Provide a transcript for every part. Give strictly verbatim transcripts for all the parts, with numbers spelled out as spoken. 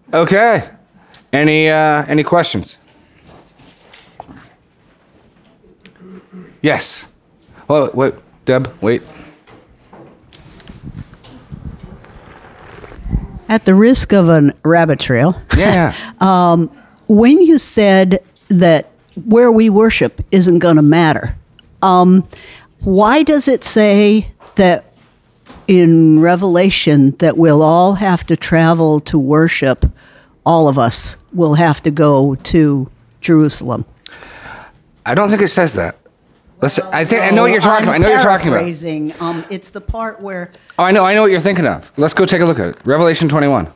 Okay. Any uh, any questions? Yes. Oh, wait, Deb, wait. At the risk of a rabbit trail, Yeah. um, when you said that where we worship isn't going to matter, um, why does it say that in Revelation that we'll all have to travel to worship? All of us will have to go to Jerusalem. I don't think it says that. Listen, I think I know what you're talking I'm about. I know what you're talking about. paraphrasing. Um, it's the part where Oh, I know. I know what you're thinking of. Let's go take a look at it. Revelation twenty-one.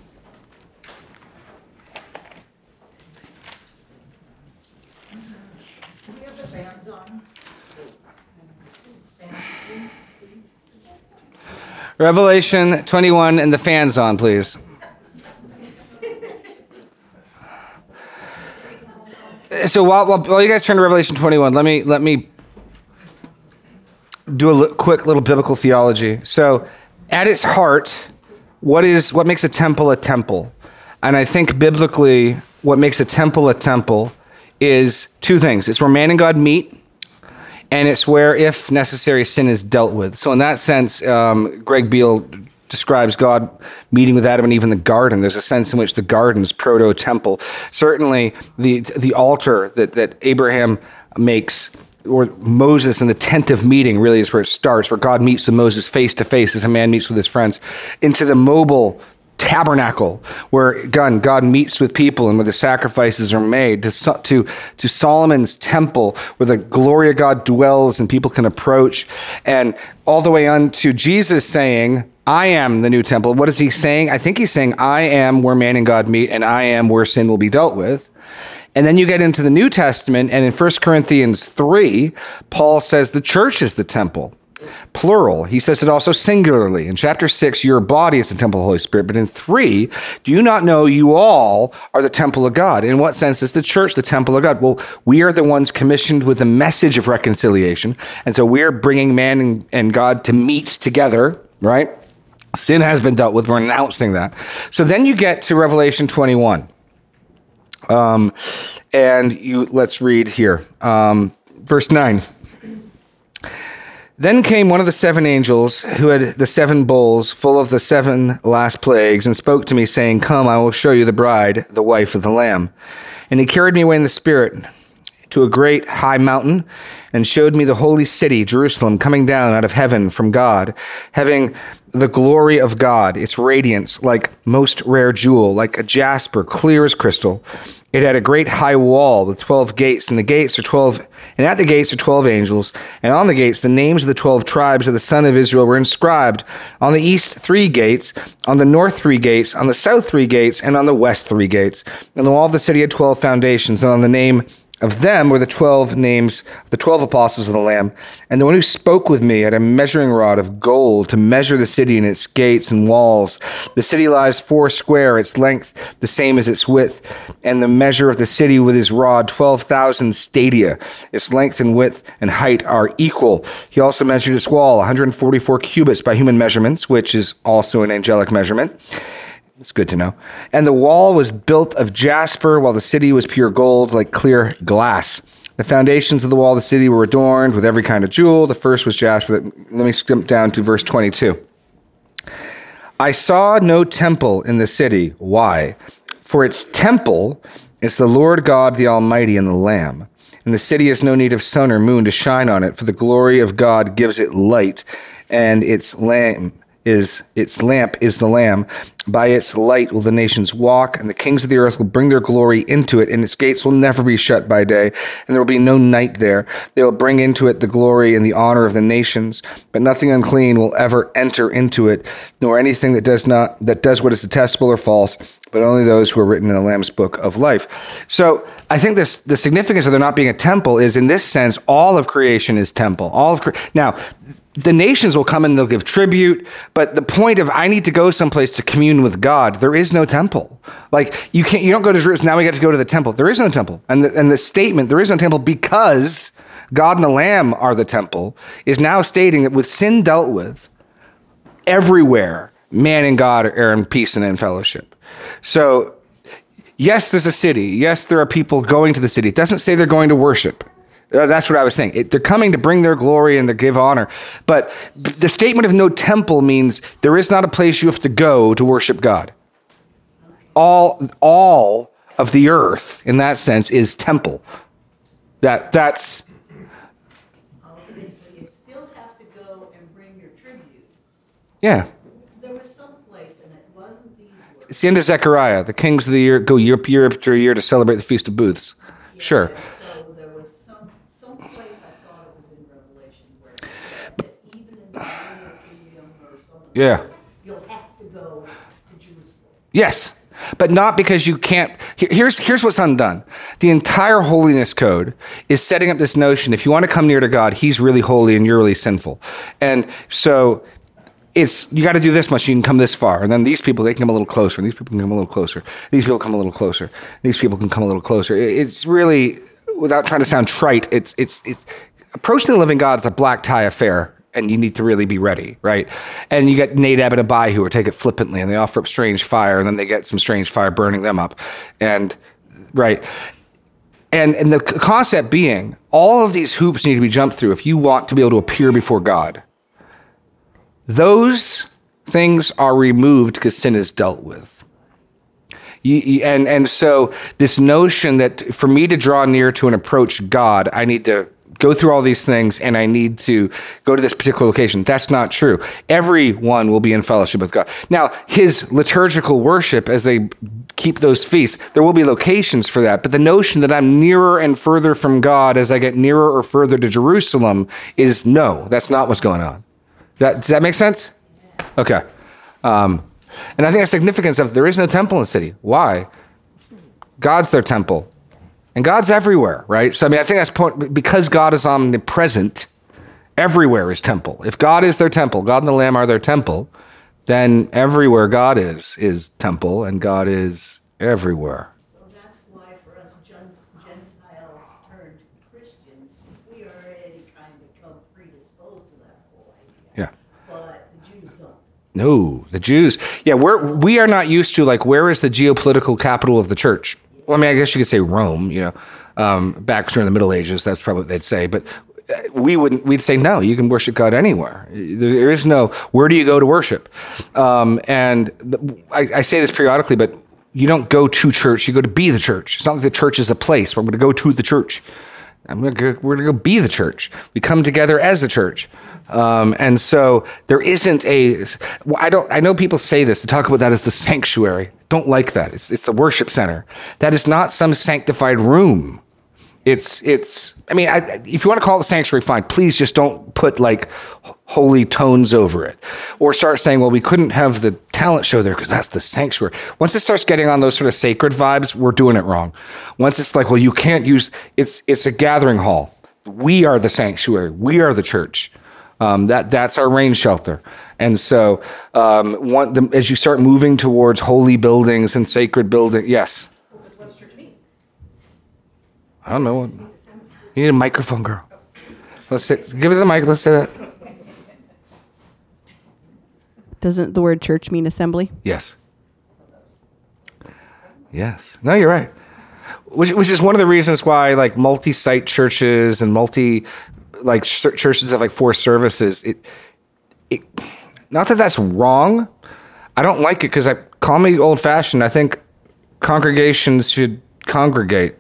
Revelation twenty-one and the fans on, please. So while, while, while you guys turn to Revelation twenty-one, let me let me do a li- quick little biblical theology. So, at its heart, what is what makes a temple a temple? And I think biblically, what makes a temple a temple is two things. It's where man and God meet, and it's where, if necessary, sin is dealt with. So in that sense, um, Greg Beale describes God meeting with Adam and Eve in the garden. There's a sense in which the garden is proto-temple. Certainly, the the altar that, that Abraham makes, or Moses in the tent of meeting, really is where it starts, where God meets with Moses face to face as a man meets with his friends, into the mobile tabernacle, where God, God meets with people and where the sacrifices are made, to, to, to Solomon's temple, where the glory of God dwells and people can approach, and all the way on to Jesus saying, I am the new temple. What is he saying? I think he's saying, I am where man and God meet, and I am where sin will be dealt with. And then you get into the New Testament, and in First Corinthians three, Paul says the church is the temple. Plural. He says it also singularly. In chapter six, your body is the temple of the Holy Spirit. But in three, do you not know you all are the temple of God? In what sense is the church the temple of God? Well, we are the ones commissioned with the message of reconciliation. And so we are bringing man and, and God to meet together, right? Sin has been dealt with. We're announcing that. So then you get to Revelation twenty-one. Um, and you let's read here. Um, verse nine. Then came one of the seven angels who had the seven bowls full of the seven last plagues and spoke to me, saying, Come, I will show you the bride, the wife of the Lamb. And he carried me away in the Spirit to a great high mountain and showed me the holy city, Jerusalem, coming down out of heaven from God, having the glory of God, its radiance like most rare jewel, like a jasper, clear as crystal. It had a great high wall with twelve gates, and the gates are twelve, and at the gates are twelve angels, and on the gates the names of the twelve tribes of the son of Israel were inscribed. On the east three gates, on the north three gates, on the south three gates, and on the west three gates. And the wall of the city had twelve foundations, and on the name of them were the twelve names, the twelve apostles of the Lamb. And the one who spoke with me had a measuring rod of gold to measure the city and its gates and walls. The city lies four square, its length the same as its width, and the measure of the city with his rod, twelve thousand stadia. Its length and width and height are equal. He also measured its wall, one hundred forty-four cubits by human measurements, which is also an angelic measurement. It's good to know. And the wall was built of jasper, while the city was pure gold, like clear glass. The foundations of the wall of the city were adorned with every kind of jewel. The first was jasper. Let me skip down to verse twenty-two. I saw no temple in the city. Why? For its temple is the Lord God, the Almighty, and the Lamb. And the city has no need of sun or moon to shine on it, for the glory of God gives it light, and its lamp is its lamp is the Lamb. By its light will the nations walk, and the kings of the earth will bring their glory into it, and its gates will never be shut by day, and there will be no night there. They will bring into it the glory and the honor of the nations, but nothing unclean will ever enter into it, nor anything that does not that does what is detestable or false, but only those who are written in the Lamb's book of life. So I think this the significance of there not being a temple is, in this sense, all of creation is temple. All of cre- now. The nations will come and they'll give tribute, but the point of I need to go someplace to commune with God, there is no temple. Like you can't, you don't go to Jerusalem, now we get to go to the temple. There is no temple. And the, and the statement, there is no temple because God and the Lamb are the temple, is now stating that with sin dealt with everywhere, man and God are in peace and in fellowship. So, yes, there's a city. Yes, there are people going to the city. It doesn't say they're going to worship. Uh, that's what I was saying. It, they're coming to bring their glory and to give honor. But the statement of no temple means there is not a place you have to go to worship God. All, all of the earth, in that sense, is temple. That that's. Okay, so you still have to go and bring your tribute. Yeah. There was some place, and it wasn't these words. It's the end of Zechariah. The kings of the year go year, year after year to celebrate the Feast of Booths. Yeah, Sure. So there was some, some place I thought it was in Revelation where it said that even in the millennial kingdom or something, Yeah. you'll have to go to Jerusalem. Yes, but not because you can't. here- Here's here's what's undone. The entire holiness code is setting up this notion: if you want to come near to God, He's really holy and you're really sinful, and so it's you got to do this much. You can come this far, and then these people they can come a little closer, and these people can come a little closer. These people come a little closer. These people can come a little closer. It- It's really, without trying to sound trite, it's it's it's approaching the living God is a black tie affair. And you need to really be ready, right? And you get Nadab and Abihu who take it flippantly, and they offer up strange fire, and then they get some strange fire burning them up, and right. And and the c- concept being, all of these hoops need to be jumped through if you want to be able to appear before God. Those things are removed because sin is dealt with. You, you- and and so this notion that for me to draw near to and approach God, I need to go through all these things and I need to go to this particular location. That's not true. Everyone will be in fellowship with God. Now, his liturgical worship, as they keep those feasts, there will be locations for that. But the notion that I'm nearer and further from God as I get nearer or further to Jerusalem is no, that's not what's going on. That, does that make sense? Okay. Um, and I think the significance of there is no temple in the city. Why? God's their temple. And God's everywhere, right? So, I mean, I think that's point, because God is omnipresent, everywhere is temple. If God is their temple, God and the Lamb are their temple, then everywhere God is, is temple, and God is everywhere. So that's why for us Gen- Gentiles turned Christians, we already kind of come predisposed to that whole idea. Yeah. But the Jews don't. No, the Jews. Yeah, we're, we are not used to, like, where is the geopolitical capital of the church? Well, I mean, I guess you could say Rome, you know, um, back during the Middle Ages, that's probably what they'd say. But we wouldn't, we'd say, no, you can worship God anywhere. There is no, where do you go to worship? Um, and the, I, I say this periodically, but you don't go to church, you go to be the church. It's not like the church is a place. We're going to go to the church. I'm gonna go, we're going to go be the church. We come together as a church. Um, and so there isn't a, I don't, I know people say this, to talk about that as the sanctuary. Don't like that. It's, it's the worship center. That is not some sanctified room. It's, it's, I mean, I, if you want to call it a sanctuary, fine. Please just don't put like holy tones over it or start saying, well, we couldn't have the talent show there because that's the sanctuary. Once it starts getting on those sort of sacred vibes, we're doing it wrong. Once it's like, well, you can't use, it's, it's a gathering hall. We are the sanctuary. We are the church. Um, that that's our rain shelter. And so um, one, the, as you start moving towards holy buildings and sacred buildings, yes. What does church mean? I don't know. You need a microphone, girl. Let's say, give it the mic. Let's say that. Doesn't the word church mean assembly? Yes. Yes. No, you're right. Which which is one of the reasons why like multi-site churches and multi like ch- churches have like four services. It it not that that's wrong. I don't like it because I call me old-fashioned. I think congregations should congregate.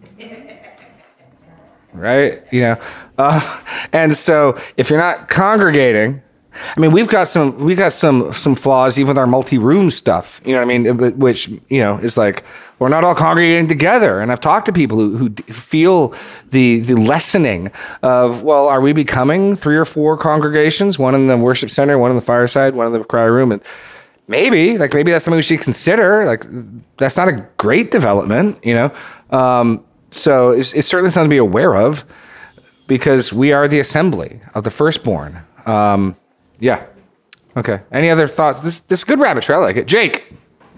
Right? You know, uh, and so if you're not congregating, I mean, we've got some we got some some flaws even with our multi-room stuff. You know what I mean? Which you know is like we're not all congregating together. And I've talked to people who, who feel the the lessening of, well, are we becoming three or four congregations? One in the worship center, one in the fireside, one in the cry room, and maybe like maybe that's something we should consider. Like that's not a great development, you know. Um, so it's, it's certainly something to be aware of because we are the assembly of the firstborn. Um, Yeah. Okay. Any other thoughts? This this is a good rabbit trail. I like it. Jake.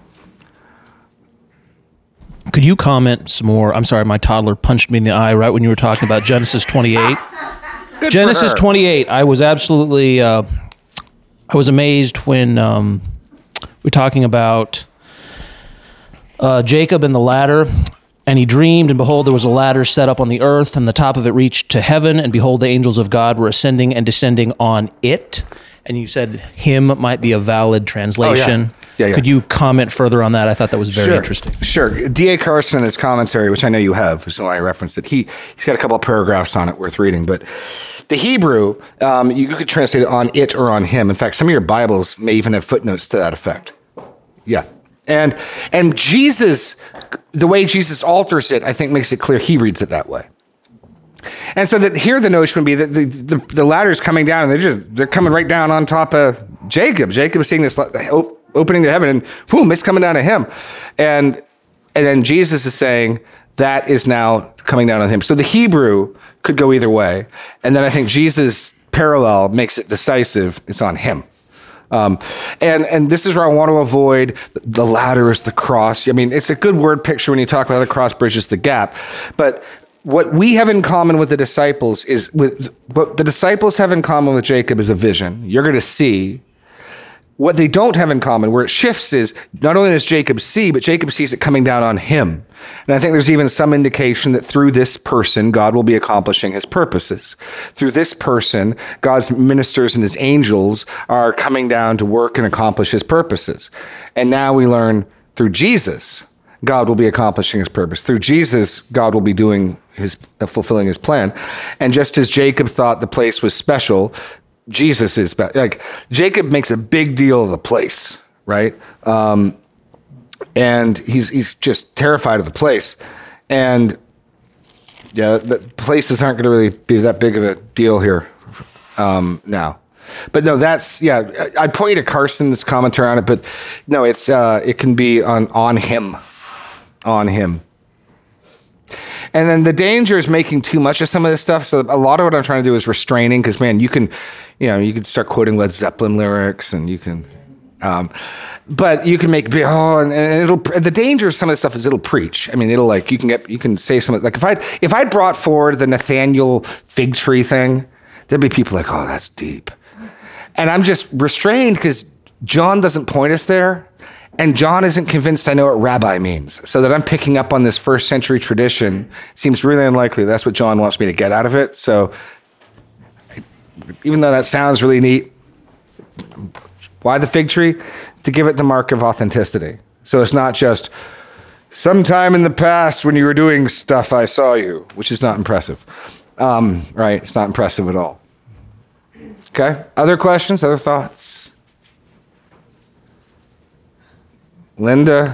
Could you comment some more? I'm sorry, my toddler punched me in the eye right when you were talking about Genesis twenty-eight. Good Genesis for her. twenty-eight. I was absolutely, uh, I was amazed when um, we're talking about uh, Jacob and the ladder. And he dreamed, and behold, there was a ladder set up on the earth, and the top of it reached to heaven, and behold, the angels of God were ascending and descending on it. And you said him might be a valid translation. Oh, yeah. Yeah, yeah. Could you comment further on that? I thought that was very sure. interesting. Sure. D A Carson in his commentary, which I know you have, so I referenced it, he, he's got a couple of paragraphs on it worth reading. But the Hebrew, um, you could translate it on it or on him. In fact, some of your Bibles may even have footnotes to that effect. Yeah. And and Jesus, the way Jesus alters it, I think makes it clear he reads it that way. And so that here the notion would be that the, the, the ladder is coming down, and they're just they're coming right down on top of Jacob. Jacob is seeing this opening to heaven, and boom, it's coming down to him. And and then Jesus is saying that is now coming down on him. So the Hebrew could go either way. And then I think Jesus' parallel makes it decisive. It's on him. Um, and, and this is where I want to avoid the ladder is the cross. I mean, it's a good word picture when you talk about the cross bridges the gap. But what we have in common with the disciples is with what the disciples have in common with Jacob is a vision. You're going to see. What they don't have in common, where it shifts, is not only does Jacob see, but Jacob sees it coming down on him. And I think there's even some indication that through this person, God will be accomplishing his purposes. Through this person, God's ministers and his angels are coming down to work and accomplish his purposes. And now we learn through Jesus, God will be accomplishing his purpose. Through Jesus, God will be doing his, uh, fulfilling his plan. And just as Jacob thought the place was special, Jesus is like Jacob makes a big deal of the place, right? Um, and he's he's just terrified of the place, and yeah, the places aren't going to really be that big of a deal here um, now. But no, that's yeah. I'd point you to Carson's commentary on it, but no, it's uh, it can be on on him, on him. And then the danger is making too much of some of this stuff. So a lot of what I'm trying to do is restraining, because man, you can, you know, you can start quoting Led Zeppelin lyrics, and you can, um, but you can make oh, and, and it'll. The danger of some of this stuff is it'll preach. I mean, it'll like you can get you can say something like if I if I brought forward the Nathaniel fig tree thing, there'd be people like, oh, that's deep, and I'm just restrained because John doesn't point us there. And John isn't convinced I know what rabbi means. So that I'm picking up on this first century tradition seems really unlikely. That's what John wants me to get out of it. So even though that sounds really neat, why the fig tree? To give it the mark of authenticity. So it's not just sometime in the past when you were doing stuff, I saw you, which is not impressive. Um, right? It's not impressive at all. Okay. Other questions? Other thoughts? Linda,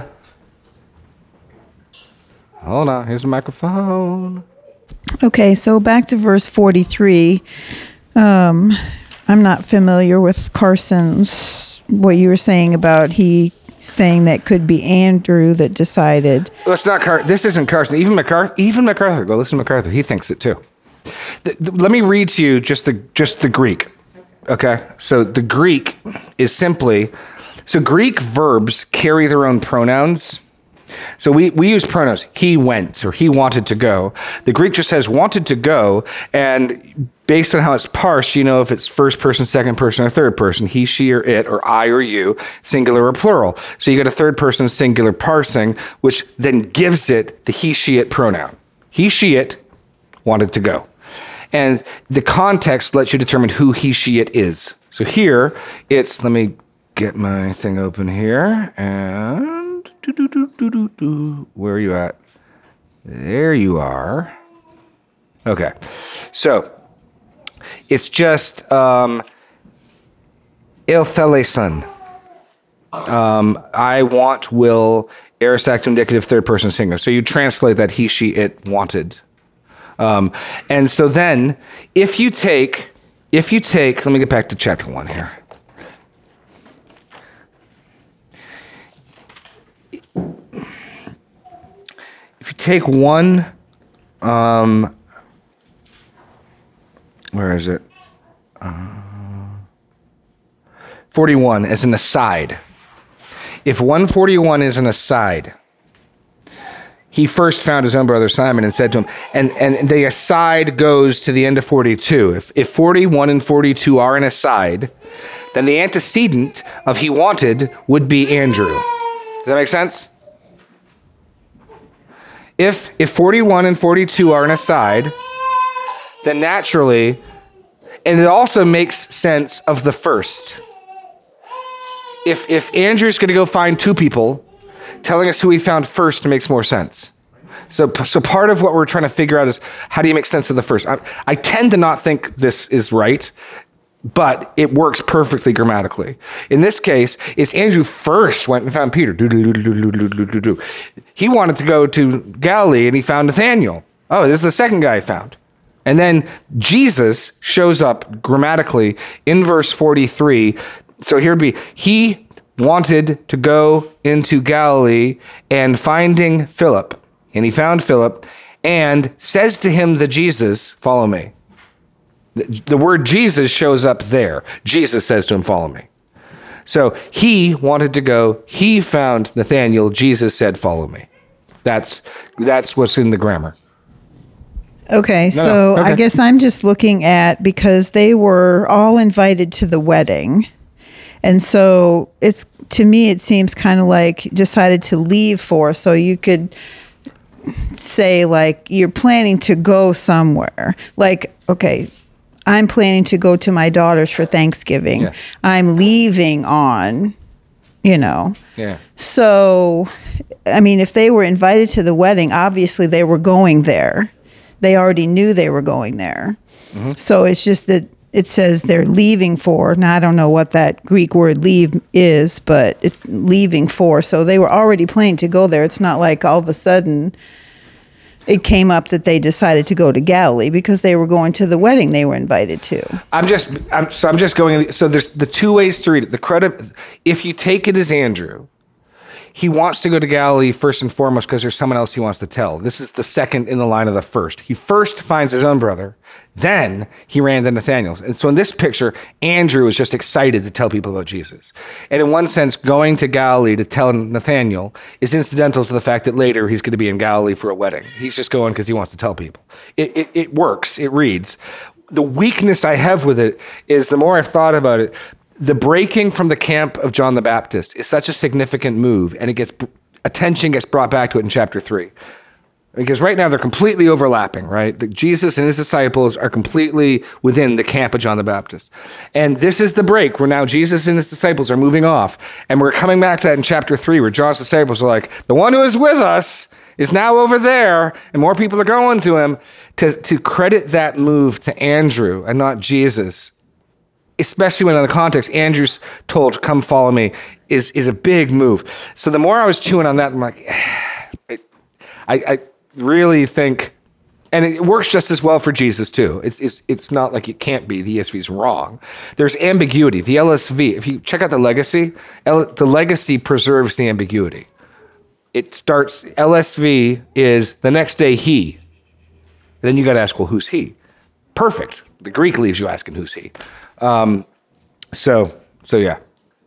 hold on. Here's the microphone. Okay, so back to verse forty-three. Um, I'm not familiar with Carson's, what you were saying about he saying that could be Andrew that decided. Well, it's not Car- This isn't Carson. Even MacArthur. Even MacArthur. Go listen to MacArthur. He thinks it too. The, the, let me read to you just the just the Greek. Okay, so the Greek is simply. So Greek verbs carry their own pronouns. So we, we use pronouns. He went or he wanted to go. The Greek just says wanted to go. And based on how it's parsed, you know if it's first person, second person, or third person. He, she, or it, or I, or you, singular or plural. So you get a third person singular parsing, which then gives it the he, she, it pronoun. He, she, it wanted to go. And the context lets you determine who he, she, it is. So here it's, let me get my thing open here, and doo, doo, doo, doo, doo, doo. Where are you at? There you are. Okay, so it's just um, iltheleson. Um, I want, will, aorist active indicative, third person singular. So you translate that he, she, it wanted. Um, and so then, if you take, if you take, let me get back to chapter one here. If you take one, um, where is it? Uh, forty-one as an aside. If one forty-one is an aside, he first found his own brother Simon and said to him, and, and the aside goes to the end of forty-two. If, if forty-one and forty-two are an aside, then the antecedent of he wanted would be Andrew. Does that make sense? If, if forty-one and forty-two are an aside, then naturally, and it also makes sense of the first. If, if Andrew's going to go find two people, telling us who he found first makes more sense. So, so part of what we're trying to figure out is, how do you make sense of the first? I, I tend to not think this is right, but it works perfectly grammatically. In this case, it's Andrew first went and found Peter. Do, do, do, do, do, do, do, do. He wanted to go to Galilee and he found Nathanael. Oh, this is the second guy he found. And then Jesus shows up grammatically in verse forty-three. So here would be, he wanted to go into Galilee and finding Philip. And he found Philip and says to him, the Jesus, follow me. The, the word Jesus shows up there. Jesus says to him, follow me. So he wanted to go. He found Nathanael. Jesus said, follow me. That's, that's what's in the grammar. Okay, No, so no, okay. I guess I'm just looking at, because they were all invited to the wedding. And so it's, to me, it seems kind of like decided to leave for, so you could say like you're planning to go somewhere. Like, okay, I'm planning to go to my daughter's for Thanksgiving. Yeah. I'm leaving on, you know. Yeah. So, I mean, if they were invited to the wedding, obviously they were going there. They already knew they were going there. Mm-hmm. So it's just that it says they're leaving for. Now, I don't know what that Greek word leave is, but it's leaving for. So they were already planning to go there. It's not like all of a sudden it came up that they decided to go to Galilee, because they were going to the wedding they were invited to. I'm just, I'm, so I'm just going, so there's the two ways to read it. The credit, if you take it as Andrew, he wants to go to Galilee first and foremost because there's someone else he wants to tell. This is the second in the line of the first. He first finds his own brother, then he ran to Nathanael. And so in this picture, Andrew is just excited to tell people about Jesus. And in one sense, going to Galilee to tell Nathanael is incidental to the fact that later he's going to be in Galilee for a wedding. He's just going because he wants to tell people. It, it, it works. It reads. The weakness I have with it is, the more I've thought about it, the breaking from the camp of John the Baptist is such a significant move, and it gets attention gets brought back to it in chapter three. Because right now they're completely overlapping, right? The, Jesus and his disciples are completely within the camp of John the Baptist. And this is the break where now Jesus and his disciples are moving off. And we're coming back to that in chapter three, where John's disciples are like, the one who is with us is now over there, and more people are going to him. To, to credit that move to Andrew and not Jesus, especially when in the context, Andrew's told, come follow me, is is a big move. So the more I was chewing on that, I'm like, I, I really think, and it works just as well for Jesus too. It's, it's, it's not like it can't be, the E S V is wrong. There's ambiguity. The L S V, if you check out the legacy, L, the legacy preserves the ambiguity. It starts, L S V is the next day he. Then you got to ask, well, who's he? Perfect. The Greek leaves you asking, who's he? Um, so, so yeah.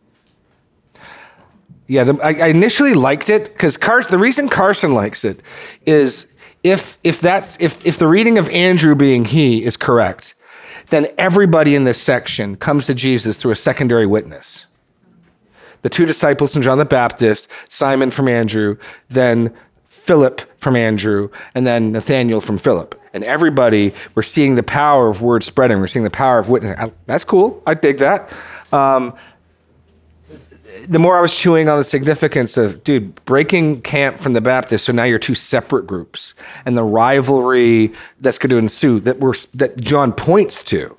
Yeah, the, I, I initially liked it because Carson, the reason Carson likes it is if, if that's, if, if the reading of Andrew being he is correct, then everybody in this section comes to Jesus through a secondary witness. The two disciples from John the Baptist, Simon from Andrew, then Philip from Andrew, and then Nathanael from Philip. And everybody, we're seeing the power of word spreading. We're seeing the power of witnessing. That's cool. I dig that. Um, the more I was chewing on the significance of, dude, breaking camp from the Baptist, so now you're two separate groups, and the rivalry that's going to ensue that we're that John points to.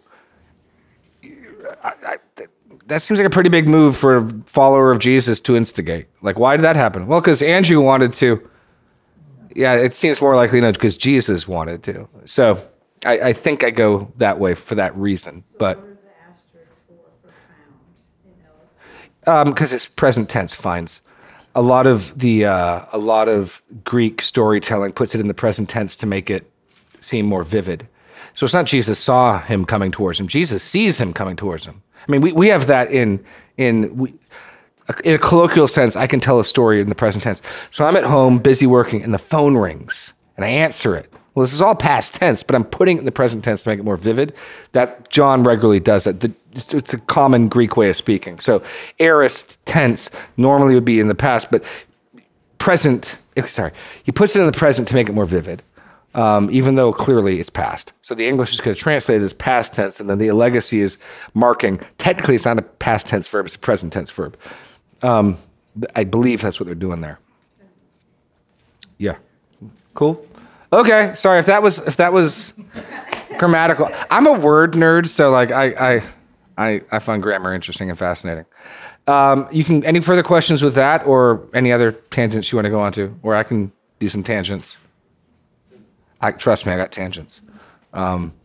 I, I, that seems like a pretty big move for a follower of Jesus to instigate. Like, why did that happen? Well, because Andrew wanted to. Yeah, it seems more likely, no, because Jesus wanted to. So I, I think I go that way for that reason. But because um, it's present tense finds. A lot of the uh, a lot of Greek storytelling puts it in the present tense to make it seem more vivid. So it's not Jesus saw him coming towards him. Jesus sees him coming towards him. I mean, we, we have that in in we, In a colloquial sense, I can tell a story in the present tense. So I'm at home, busy working, and the phone rings, and I answer it. Well, this is all past tense, but I'm putting it in the present tense to make it more vivid. That John regularly does that. The, it's a common Greek way of speaking. So aorist tense normally would be in the past, but present, sorry, he puts it in the present to make it more vivid, um, even though clearly it's past. So the English is going to translate it as past tense, and then the legacy is marking. Technically, it's not a past tense verb, it's a present tense verb. Um, I believe that's what they're doing there. Yeah. Cool. Okay. Sorry if that was if that was grammatical. I'm a word nerd, so like I I I, I find grammar interesting and fascinating. Um, you can any further questions with that, or any other tangents you want to go on to, or I can do some tangents. I trust me, I got tangents. Um,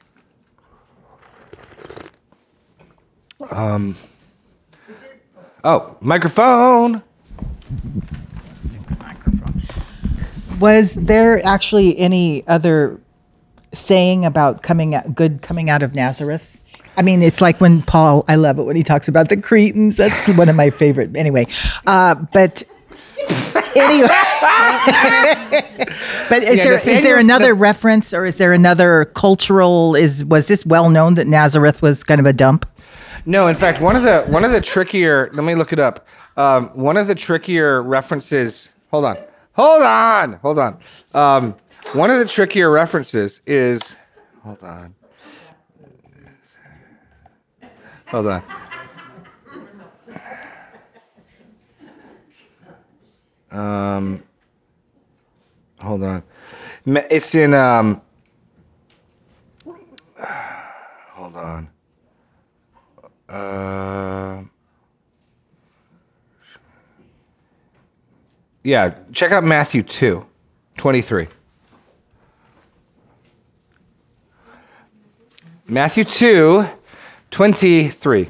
um, Oh, microphone. Was there actually any other saying about coming out, good coming out of Nazareth? I mean, it's like when Paul, I love it when he talks about the Cretans. That's one of my favorite. Anyway, uh, but anyway, but is Yeah, there is there Nathaniel's another the- reference, or is there another cultural? Is was this well known that Nazareth was kind of a dump? No, in fact, one of the one of the trickier. Let me look it up. Um, one of the trickier references. Hold on. Hold on. Hold on. Um, one of the trickier references is. Hold on. Hold on. Um, hold on. Ma- It's in. Um, hold on. Uh, yeah, check out Matthew two, twenty-three. Matthew two, twenty-three.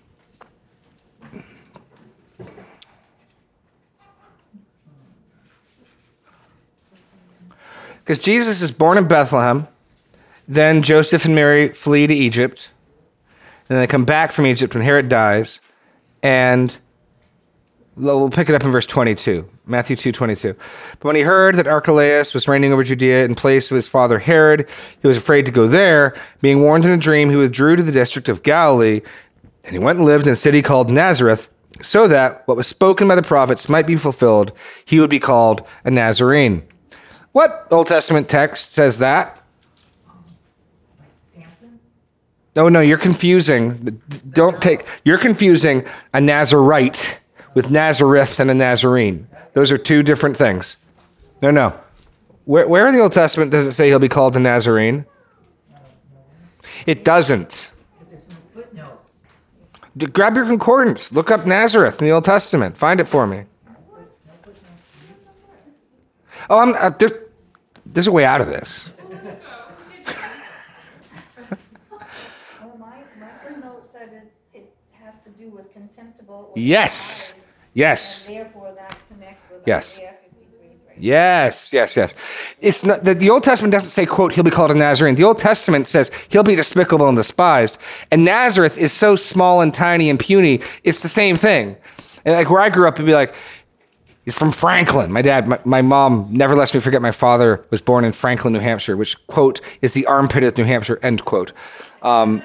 Because Jesus is born in Bethlehem, then Joseph and Mary flee to Egypt. And then they come back from Egypt when Herod dies, and we'll pick it up in verse twenty-two, Matthew two twenty-two. But when he heard that Archelaus was reigning over Judea in place of his father Herod, he was afraid to go there. Being warned in a dream, he withdrew to the district of Galilee, and he went and lived in a city called Nazareth, so that what was spoken by the prophets might be fulfilled. He would be called a Nazarene. What Old Testament text says that? No, no, you're confusing. Don't take, you're confusing a Nazarite with Nazareth and a Nazarene. Those are two different things. No, no. Where, where in the Old Testament does it say he'll be called a Nazarene? It doesn't. D- Grab your concordance. Look up Nazareth in the Old Testament. Find it for me. Oh, I'm, uh, there, there's a way out of this. Yes. Yes. And therefore, that connects with Yes. Isaiah fifty-three three. Yes, yes, yes. It's not the, the Old Testament doesn't say, quote, he'll be called a Nazarene. The Old Testament says he'll be despicable and despised. And Nazareth is so small and tiny and puny, it's the same thing. And like where I grew up, it'd be like, he's from Franklin. My dad, my, my mom never lets me forget my father was born in Franklin, New Hampshire, which, quote, is the armpit of New Hampshire, end quote. Um,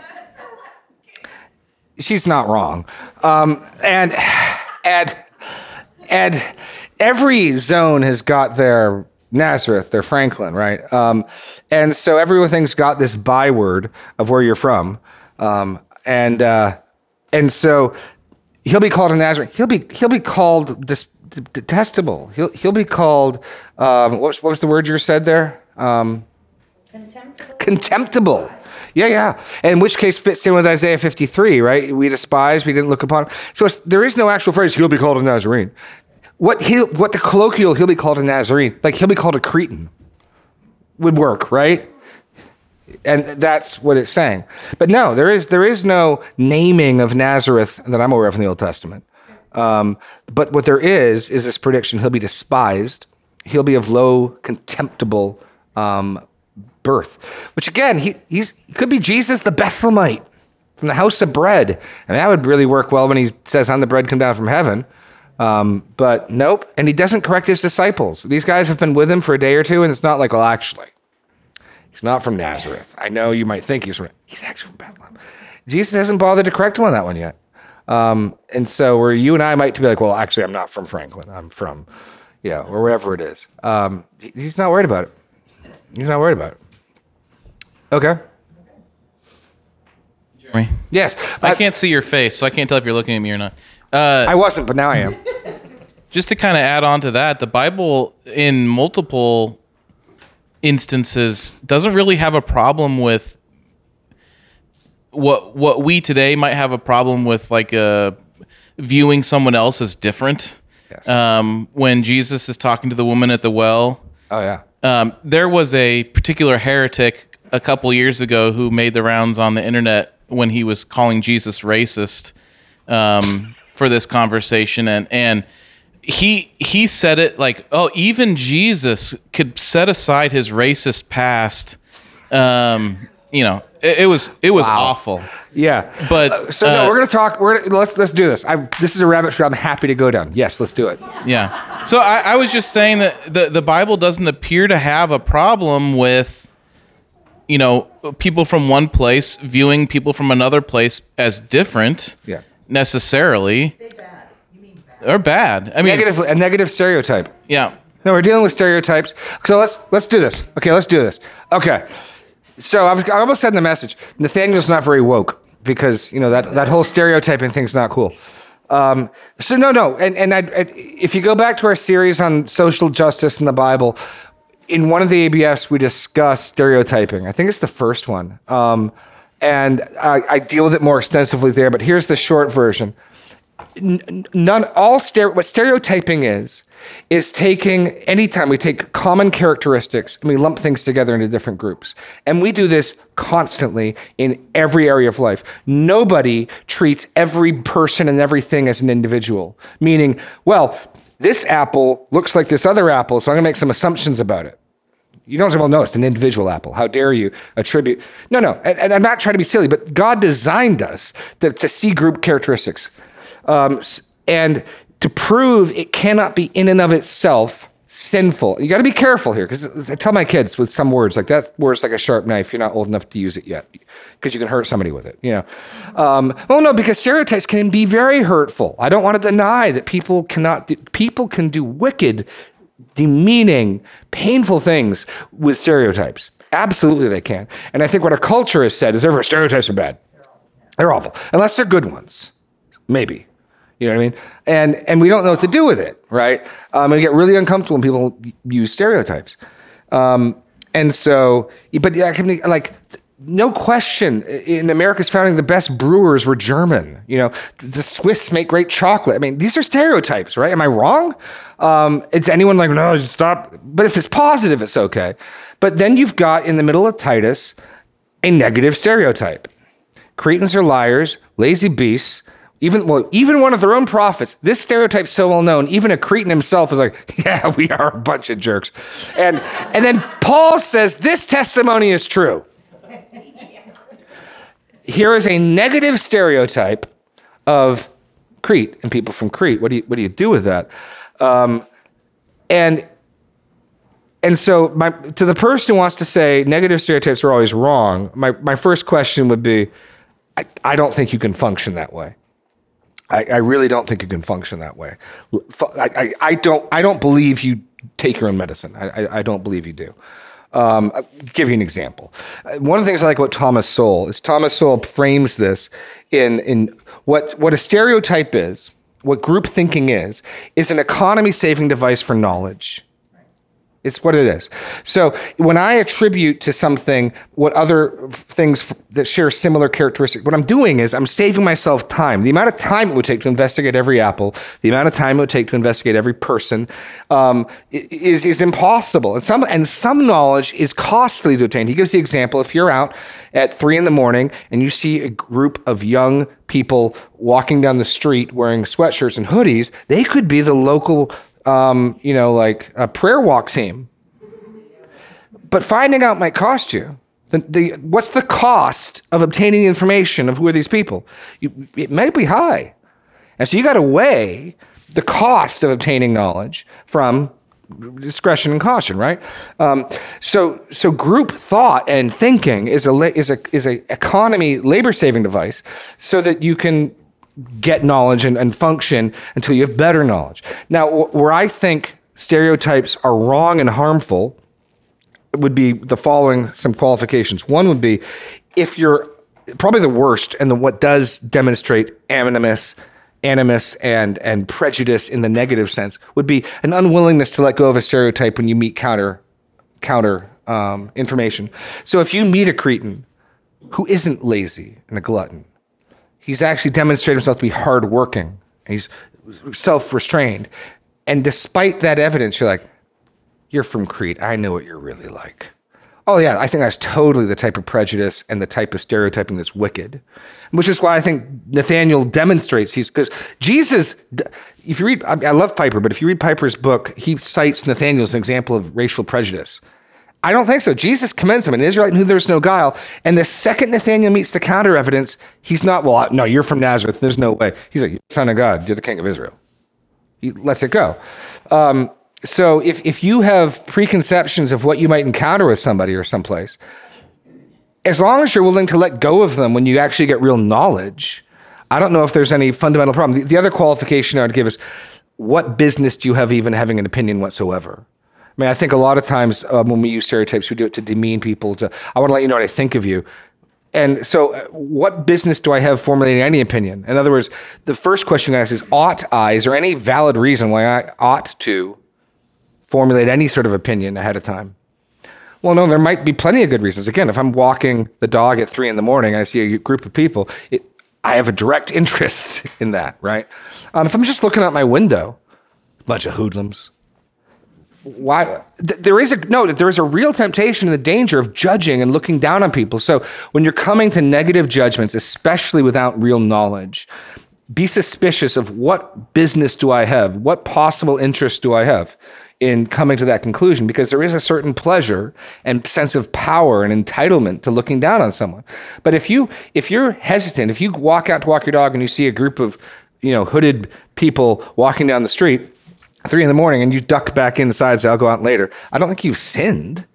she's not wrong. Um, and, and, and every zone has got their Nazareth, their Franklin, right? Um, and so everything's got this byword of where you're from. Um, and, uh, and so he'll be called a Nazarene. He'll be, he'll be called dis- detestable. He'll, he'll be called, um, what, was, what was the word you said there? Um, Contemptible. contemptible. Yeah, yeah. In which case fits in with Isaiah fifty-three, right? We despise, we didn't look upon. So it's, there is no actual phrase, he'll be called a Nazarene. What he, what the colloquial, he'll be called a Nazarene, like he'll be called a Cretan, would work, right? And that's what it's saying. But no, there is there is no naming of Nazareth that I'm aware of in the Old Testament. Um, but what there is, is this prediction, he'll be despised. He'll be of low, contemptible um, birth. Which again, he, he's, he could be Jesus the Bethlehemite. from the house of bread. And that would really work well when he says, I'm the bread come down from heaven. Um, but nope. And he doesn't correct his disciples. These guys have been with him for a day or two, and it's not like, well, actually, he's not from Nazareth. I know you might think he's from, he's actually from Bethlehem. Jesus hasn't bothered to correct him on that one yet. Um, and so where you and I might be like, well, actually, I'm not from Franklin. I'm from, you know, or wherever it is. Um, he's not worried about it. He's not worried about it. Okay. Jeremy, Yes. I can't see your face, so I can't tell if you're looking at me or not. Uh, I wasn't, but now I am. just to kind of add on to that, the Bible in multiple instances doesn't really have a problem with what what we today might have a problem with, like uh, viewing someone else as different. Yes. Um, when Jesus is talking to the woman at the well, Oh, yeah. um, there was a particular heretic a couple years ago who made the rounds on the internet when he was calling Jesus racist um, for this conversation, and and he he said it like, oh, even Jesus could set aside his racist past. Um, you know, it, it was it was Wow. awful. Yeah. But, Uh, so no, uh, we're going to talk. We're gonna, let's let's do this. I, this is a rabbit trail I'm happy to go down. Yes, let's do it. Yeah. So I, I was just saying that the, the Bible doesn't appear to have a problem with, you know, people from one place viewing people from another place as different. Yeah. Necessarily. Say bad. You mean bad. Or bad. I mean, Negative, a negative stereotype. yeah. No, we're dealing with stereotypes. So let's let's do this. Okay, let's do this. Okay. So I, was, I almost said in the message, Nathaniel's not very woke because you know that that whole stereotyping thing's not cool. Um, so no, no, and and I, I, if you go back to our series on social justice in the Bible, in one of the A B Fs we discuss stereotyping. I think it's the first one, um, and I, I deal with it more extensively there. But here's the short version. None, all stere- what stereotyping is, is taking, anytime we take common characteristics and we lump things together into different groups. And we do this constantly in every area of life. Nobody treats every person and everything as an individual, meaning, well, this apple looks like this other apple, so I'm gonna make some assumptions about it. You don't say, well, no, it's an individual apple. How dare you attribute? No, no, and, and I'm not trying to be silly, but God designed us to, to see group characteristics. Um, and to prove it cannot be in and of itself sinful. You got to be careful here, because I tell my kids with some words, like that word's like a sharp knife. You're not old enough to use it yet, because you can hurt somebody with it. You know, um, well, no, because stereotypes can be very hurtful. I don't want to deny that people cannot. Do, people can do wicked, demeaning, painful things with stereotypes. Absolutely, they can. And I think what our culture has said is, therefore, stereotypes are bad. They're awful, unless they're good ones, maybe. You know what I mean? And and we don't know what to do with it, right? Um, and we get really uncomfortable when people use stereotypes. Um, and so, but yeah, like, no question, in America's founding, the best brewers were German. You know, the Swiss make great chocolate. I mean, these are stereotypes, right? Am I wrong? Um, is anyone like, no, just stop? But if it's positive, it's okay. But then you've got, in the middle of Titus, a negative stereotype. Cretans are liars, lazy beasts. Even well, even one of their own prophets. This stereotype's so well known. Even a Cretan himself is like, "Yeah, we are a bunch of jerks." And and then Paul says this testimony is true. Here is a negative stereotype of Crete and people from Crete. What do you what do you do with that? Um, and and so my, to the person who wants to say negative stereotypes are always wrong, my my first question would be, I, I don't think you can function that way. I, I really don't think you can function that way. I, I, I don't. I don't believe you take your own medicine. I, I, I don't believe you do. Um, I'll give you an example. One of the things I like about Thomas Sowell is Thomas Sowell frames this in in what what a stereotype is, what group thinking is, is an economy-saving device for knowledge. It's what it is. So when I attribute to something what other things that share similar characteristics, what I'm doing is I'm saving myself time. The amount of time it would take to investigate every apple, the amount of time it would take to investigate every person, um, is is impossible. And some and some knowledge is costly to obtain. He gives the example: if you're out at three in the morning and you see a group of young people walking down the street wearing sweatshirts and hoodies, they could be the local. Um, you know, like a prayer walk team. But finding out might cost you. The, the, what's the cost of obtaining information of who are these people? You, it might be high. And so you got to weigh the cost of obtaining knowledge from discretion and caution, right? Um, so, so group thought and thinking is a is a is a economy labor saving device, so that you can get knowledge and, and function until you have better knowledge. Now, wh- where I think stereotypes are wrong and harmful would be the following some qualifications. One would be if you're probably the worst, and the, what does demonstrate animus, animus and and prejudice in the negative sense would be an unwillingness to let go of a stereotype when you meet counter counter um, information. So if you meet a Cretan who isn't lazy and a glutton, he's actually demonstrated himself to be hardworking, and he's self-restrained, and despite that evidence, you're like, you're from Crete. I know what you're really like. Oh yeah, I think that's totally the type of prejudice and the type of stereotyping that's wicked, which is why I think Nathaniel demonstrates he's, because Jesus, if you read, I love Piper, but if you read Piper's book, he cites Nathaniel as an example of racial prejudice. I don't think so. Jesus commends him, an Israelite in whom there's no guile. And the second Nathaniel meets the counter evidence, he's not, well, no, you're from Nazareth. There's no way. He's like, son of God, you're the king of Israel. He lets it go. Um, So if, if you have preconceptions of what you might encounter with somebody or someplace, as long as you're willing to let go of them when you actually get real knowledge, I don't know if there's any fundamental problem. The, the other qualification I would give is, what business do you have even having an opinion whatsoever? I mean, I think a lot of times um, when we use stereotypes, we do it to demean people. To I want to let you know what I think of you. And so uh, what business do I have formulating any opinion? In other words, the first question I ask is, ought I, is there any valid reason why I ought to formulate any sort of opinion ahead of time? Well, no, there might be plenty of good reasons. Again, if I'm walking the dog at three in the morning and I see a group of people, it, I have a direct interest in that, right? Um, if I'm just looking out my window, bunch of hoodlums, why? Th- there is a no. There is a real temptation and the danger of judging and looking down on people. So when you're coming to negative judgments, especially without real knowledge, be suspicious of what business do I have, what possible interest do I have in coming to that conclusion, because there is a certain pleasure and sense of power and entitlement to looking down on someone. But if you if you're hesitant, if you walk out to walk your dog and you see a group of, you know, hooded people walking down the street at three in the morning and you duck back inside and say, I'll go out later, I don't think you've sinned.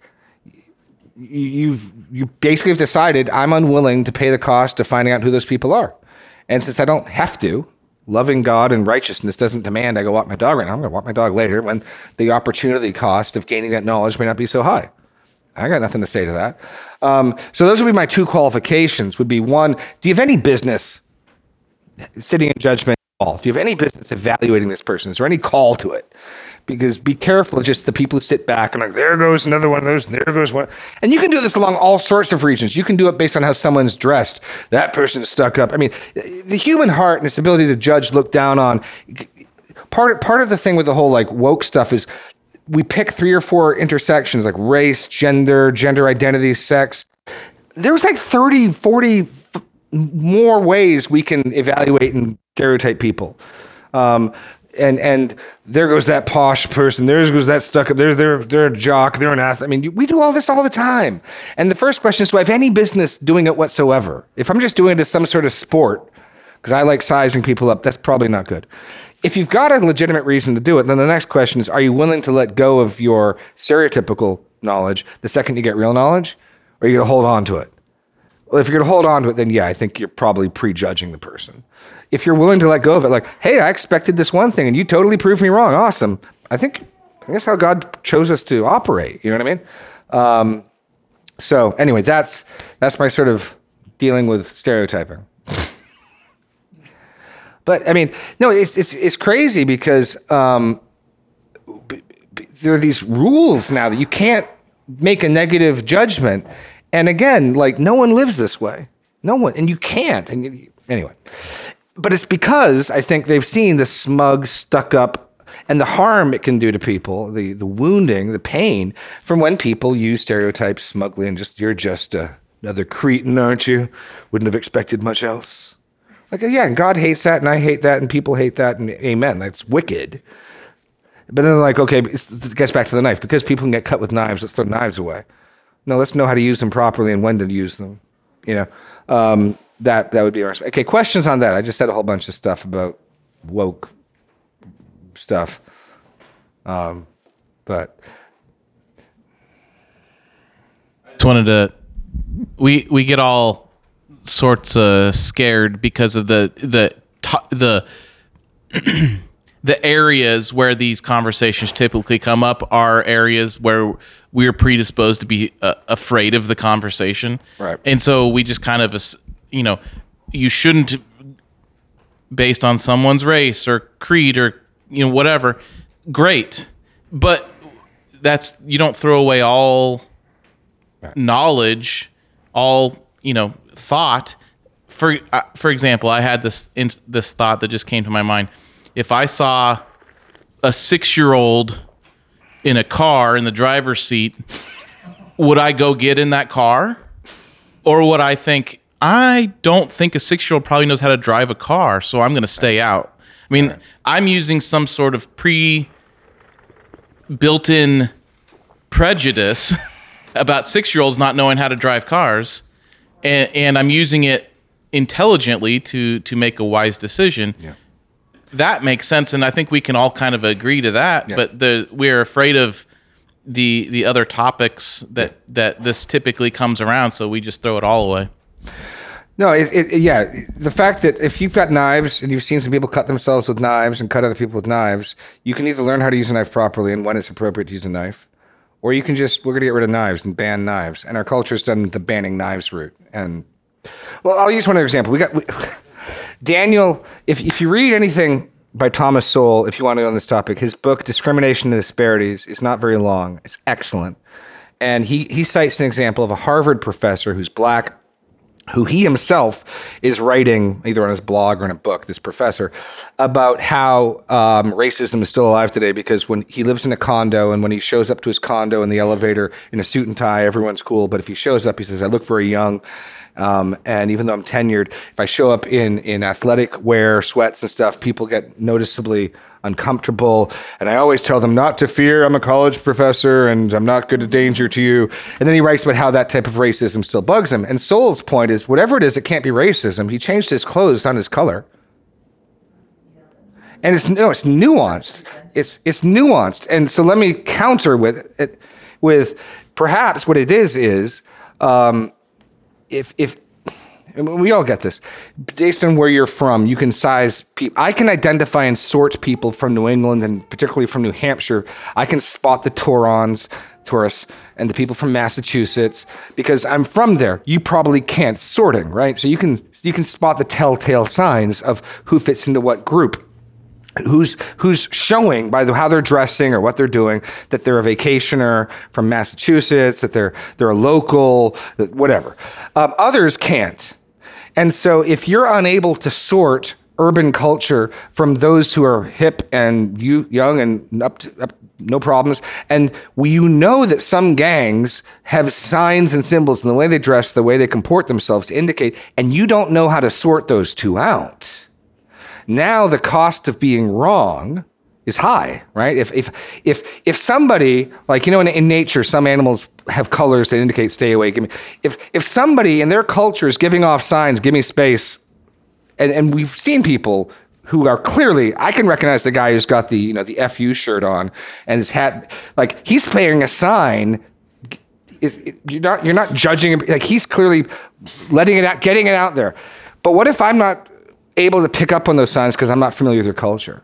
You've you basically have decided, I'm unwilling to pay the cost of finding out who those people are. And since I don't have to, loving God and righteousness doesn't demand I go walk my dog right now. I'm going to walk my dog later when the opportunity cost of gaining that knowledge may not be so high. I got nothing to say to that. Um, so those would be my two qualifications. Would be one, do you have any business sitting in judgment at all? Do you have any business evaluating this person? Is there any call to it? Because be careful of just the people who sit back and like, there goes another one of those, and there goes one. And you can do this along all sorts of regions. You can do it based on how someone's dressed. That person's stuck up. I mean, the human heart and its ability to judge, look down on. Part, part of the thing with the whole like woke stuff is we pick three or four intersections like race, gender, gender identity, sex. There's like thirty, forty f- more ways we can evaluate and stereotype people. Um, And and there goes that posh person. There goes that stuck up. They're they're they're a jock. They're an athlete. I mean, we do all this all the time. And the first question is, do I have any business doing it whatsoever? If I'm just doing it as some sort of sport, because I like sizing people up, that's probably not good. If you've got a legitimate reason to do it, then the next question is, are you willing to let go of your stereotypical knowledge the second you get real knowledge, or are you going to hold on to it? Well, if you're going to hold on to it, then yeah, I think you're probably prejudging the person. If you're willing to let go of it, like, hey, I expected this one thing and you totally proved me wrong. Awesome. I think, I think that's how God chose us to operate. You know what I mean? Um, so anyway, that's, that's my sort of dealing with stereotyping. But I mean, no, it's, it's, it's crazy because um, b- b- there are these rules now that you can't make a negative judgment. And again, like no one lives this way. No one, and you can't. And you, anyway. But it's because I think they've seen the smug, stuck up, and the harm it can do to people, the the wounding, the pain from when people use stereotypes smugly and just, you're just uh, another Cretan, aren't you? Wouldn't have expected much else. Like, yeah, and God hates that, and I hate that, and people hate that, and amen, that's wicked. But then they're like, okay, it's, it gets back to the knife. Because people can get cut with knives, let's throw knives away. No, let's know how to use them properly and when to use them. You know, um, that that would be our okay. Questions on that? I just said a whole bunch of stuff about woke stuff, um, but Just wanted to. We we get all sorts of scared because of the the to- the the areas where these conversations typically come up are areas where we're predisposed to be uh, afraid of the conversation. Right. And so we just kind of, ass- you know, you shouldn't, based on someone's race or creed or, you know, whatever, great. But that's, you don't throw away all knowledge, all, you know, thought. For uh, for example, I had this in, this thought that just came to my mind. If I saw a six-year-old in a car in the driver's seat, would I go get in that car? Or would I think, I don't think a six-year-old probably knows how to drive a car, so I'm going to stay out. I mean, I'm using some sort of pre-built-in prejudice about six-year-olds not knowing how to drive cars, and, and I'm using it intelligently to to make a wise decision. Yeah. That makes sense, and I think we can all kind of agree to that. Yeah. But the we're afraid of the the other topics that that this typically comes around, so we just throw it all away. no, it, it, yeah. The fact that if you've got knives and you've seen some people cut themselves with knives and cut other people with knives, you can either learn how to use a knife properly and when it's appropriate to use a knife, or you can just, we're going to get rid of knives and ban knives. And our culture's done the banning knives route. And, well, I'll use one other example. We got, we, Daniel, if, if you read anything by Thomas Sowell, if you want to go on this topic, his book, Discrimination and Disparities, is not very long. It's excellent. And he, he cites an example of a Harvard professor who's black, who he himself is writing either on his blog or in a book, this professor, about how um, racism is still alive today because when he lives in a condo and when he shows up to his condo in the elevator in a suit and tie, everyone's cool. But if he shows up, he says, I look very young. Um, and even though I'm tenured, if I show up in, in athletic wear, sweats and stuff, people get noticeably uncomfortable. And I always tell them not to fear. I'm a college professor and I'm not good a danger to you. And then he writes about how that type of racism still bugs him. And Sowell's point is, whatever it is, it can't be racism. He changed his clothes, not his color. And it's no, it's nuanced. It's it's nuanced. And so let me counter with it with perhaps what it is is um, if if I mean, we all get this. Based on where you're from, you can size people. I can identify and sort people from New England and particularly from New Hampshire. I can spot the Taurons, tourists, and the people from Massachusetts because I'm from there. You probably can't sorting, right? So you can you can spot the telltale signs of who fits into what group. Who's who's showing by the, how they're dressing or what they're doing that they're a vacationer from Massachusetts, that they're they're a local, whatever. Um, others can't, and so if you're unable to sort urban culture from those who are hip and you young and up, to, up no problems, and we, you know that some gangs have signs and symbols in the way they dress, the way they comport themselves to indicate, and you don't know how to sort those two out. Now the cost of being wrong is high, right? If if if if somebody, like, you know, in, in nature, some animals have colors that indicate stay away. Give me. If if somebody in their culture is giving off signs, give me space, and, and we've seen people who are clearly, I can recognize the guy who's got the, you know, the F U shirt on and his hat, like he's playing a sign. It, it, you're not you're not judging him, like he's clearly letting it out, getting it out there. But what if I'm not able to pick up on those signs because I'm not familiar with your culture?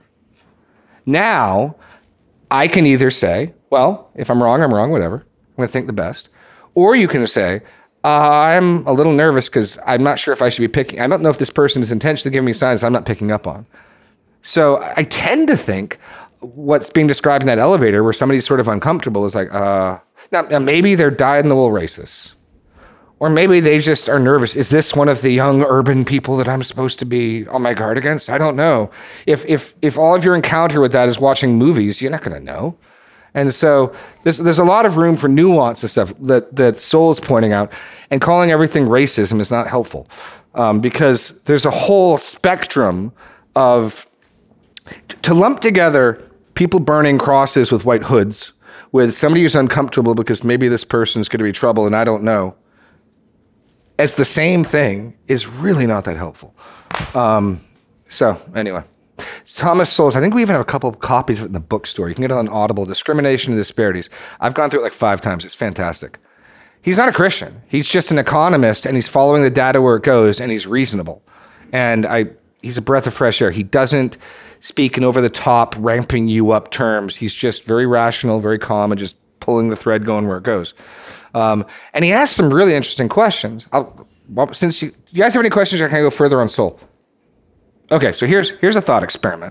Now, I can either say, well, if I'm wrong, I'm wrong, whatever. I'm going to think the best. Or you can say, uh, I'm a little nervous because I'm not sure if I should be picking. I don't know if this person is intentionally giving me signs I'm not picking up on. So I tend to think what's being described in that elevator where somebody's sort of uncomfortable is like, uh, now, now maybe they're dyed-in-the-wool racists. Or maybe they just are nervous. Is this one of the young urban people that I'm supposed to be on my guard against? I don't know. If if if all of your encounter with that is watching movies, you're not going to know. And so there's there's a lot of room for nuance and stuff that that Sowell is pointing out. And calling everything racism is not helpful um, because there's a whole spectrum of to lump together people burning crosses with white hoods with somebody who's uncomfortable because maybe this person's going to be trouble and I don't know, as the same thing is really not that helpful. Um, so anyway, Thomas Sowell's, I think we even have a couple of copies of it in the bookstore. You can get it on Audible, Discrimination and Disparities. I've gone through it like five times. It's fantastic. He's not a Christian. He's just an economist, and he's following the data where it goes, and he's reasonable. And I, he's a breath of fresh air. He doesn't speak in over-the-top, ramping you up terms. He's just very rational, very calm, and just pulling the thread going where it goes. Um, and he asks some really interesting questions. I'll, well, since you, you guys have any questions, I can go further on Sowell. Okay, so here's here's a thought experiment.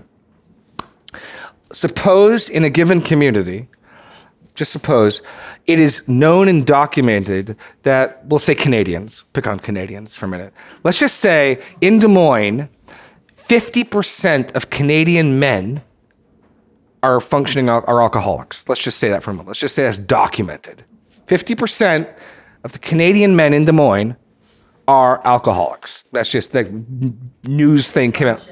Suppose in a given community, just suppose, it is known and documented that, we'll say Canadians, pick on Canadians for a minute. Let's just say in Des Moines, fifty percent of Canadian men are functioning, are alcoholics. Let's just say that for a moment. Let's just say that's documented. fifty percent of the Canadian men in Des Moines are alcoholics. That's just the news thing came out.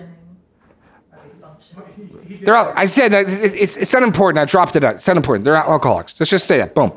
They're all, I said that it's, it's unimportant. I dropped it out. It's unimportant. They're alcoholics. Let's just say that. Boom.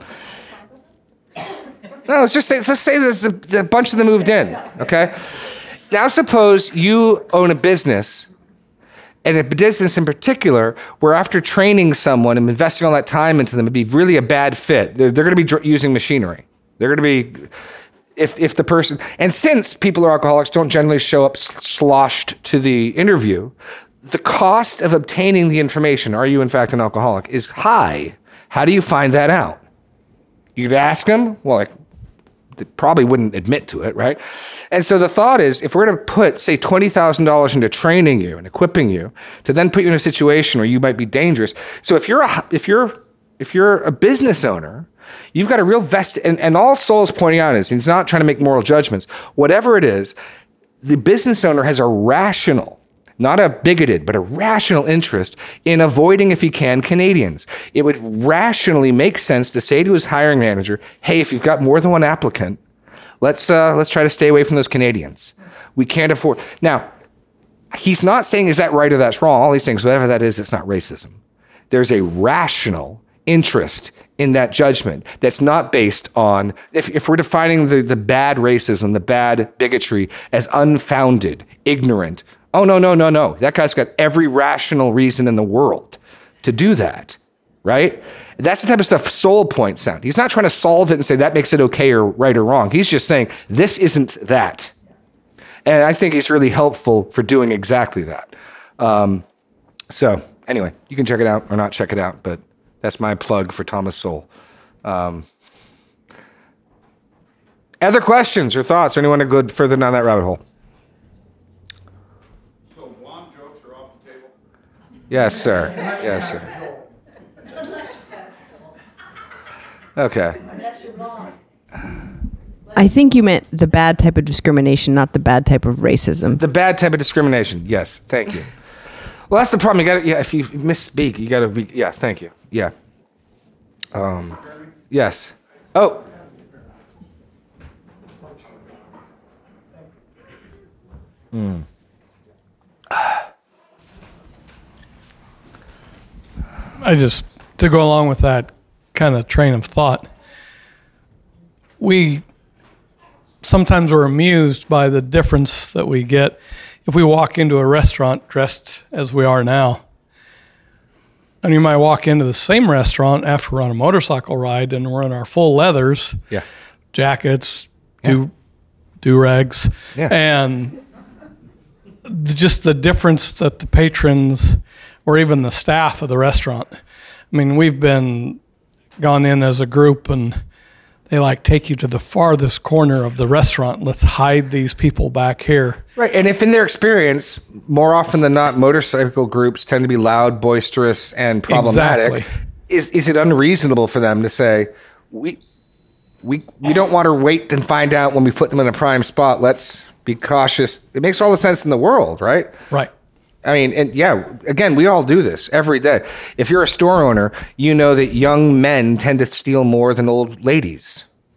No, let's just say, let's say that the, the bunch of them moved in. Okay. Now suppose you own a business, and a business in particular, where after training someone and investing all that time into them, it'd be really a bad fit. They're, they're going to be dr- using machinery. They're going to be, if if the person, and since people who are alcoholics don't generally show up sloshed to the interview, the cost of obtaining the information, are you in fact an alcoholic, is high. How do you find that out? You'd ask them, well, like, they probably wouldn't admit to it, right? And so the thought is, if we're going to put, say, twenty thousand dollars into training you and equipping you to then put you in a situation where you might be dangerous. So if you're a, if you're if you're a business owner, you've got a real vested, and, and all Sowell's pointing out is, he's not trying to make moral judgments. Whatever it is, the business owner has a rational, not a bigoted, but a rational interest in avoiding, if he can, Canadians. It would rationally make sense to say to his hiring manager, hey, if you've got more than one applicant, let's uh, let's try to stay away from those Canadians. We can't afford. Now, he's not saying is that right or that's wrong. All he's saying is whatever that is, it's not racism. There's a rational interest in that judgment that's not based on, if, if we're defining the, the bad racism, the bad bigotry as unfounded, ignorant, oh, no, no, no, no. That guy's got every rational reason in the world to do that, right? That's the type of stuff Sowell points out. He's not trying to solve it and say that makes it okay or right or wrong. He's just saying this isn't that. And I think he's really helpful for doing exactly that. Um, so anyway, you can check it out or not check it out, but that's my plug for Thomas Sowell. Um, other questions or thoughts? Or anyone to go further down that rabbit hole? Yes, sir. Yes, sir. Okay. I think you meant the bad type of discrimination, not the bad type of racism. The bad type of discrimination. Yes. Thank you. Well, that's the problem. You got to, yeah, if you misspeak, you got to be, yeah, thank you. Yeah. Um, yes. Oh. Mm. I just, to go along with that kind of train of thought, we sometimes are amused by the difference that we get if we walk into a restaurant dressed as we are now. And you might walk into the same restaurant after we're on a motorcycle ride and we're in our full leathers, yeah, jackets, do yeah. do-rags, yeah. and just the difference that the patrons or even the staff of the restaurant. I mean, we've been gone in as a group and they like take you to the farthest corner of the restaurant. Let's hide these people back here. Right. And if in their experience, more often than not, motorcycle groups tend to be loud, boisterous, and problematic, exactly. is is it unreasonable for them to say, we we we don't want to wait and find out when we put them in a prime spot. Let's be cautious. It makes all the sense in the world, right? Right. I mean, and yeah, again, we all do this every day. If you're a store owner, you know that young men tend to steal more than old ladies.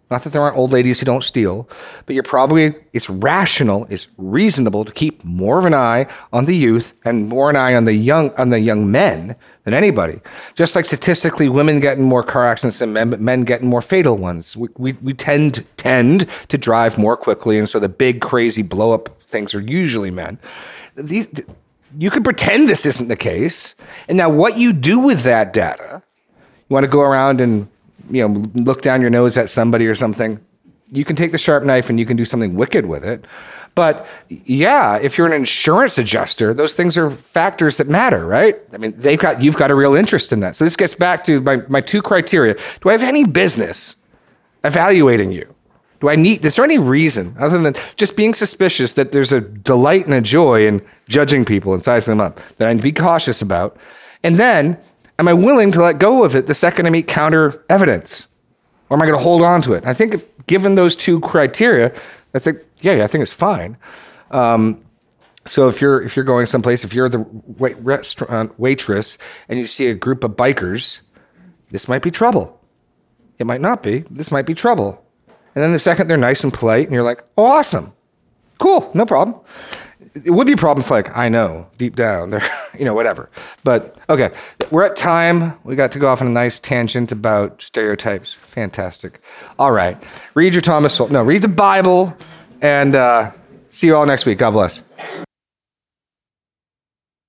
Not that there aren't old ladies who don't steal, but you're probably, it's rational, it's reasonable to keep more of an eye on the youth and more an eye on the young on the young men than anybody. Just like statistically, women get in more car accidents than men, but men get in more fatal ones. We, we, we tend, tend to drive more quickly, and so the big, crazy blow-up things are usually men. These, you could pretend this isn't the case, and now what you do with that data, you want to go around and you know, look down your nose at somebody or something, you can take the sharp knife and you can do something wicked with it. But yeah, if you're an insurance adjuster, those things are factors that matter, right? I mean, they've got, you've got a real interest in that. So this gets back to my, my two criteria. Do I have any business evaluating you? Do I need, is there any reason other than just being suspicious that there's a delight and a joy in judging people and sizing them up that I need to be cautious about? And then, am I willing to let go of it the second I meet counter evidence? Or am I going to hold on to it? I think if, given those two criteria, I think, yeah, I think it's fine. Um, so if you're if you're going someplace, if you're the wait, restaurant waitress and you see a group of bikers, this might be trouble. It might not be. This might be trouble. And then the second they're nice and polite and you're like, oh, awesome. Cool, no problem. It would be a problem if, like, I know deep down they're, you know, whatever. But okay, we're at time. We got to go off on a nice tangent about stereotypes. Fantastic. All right, read your Thomas Sowell. No, read the Bible, and uh, see you all next week. God bless.